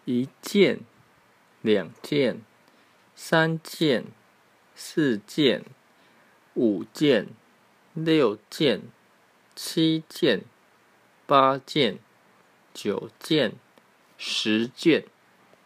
1件、2件、3件、4件、5件、6件、7件、8件、9件、10件。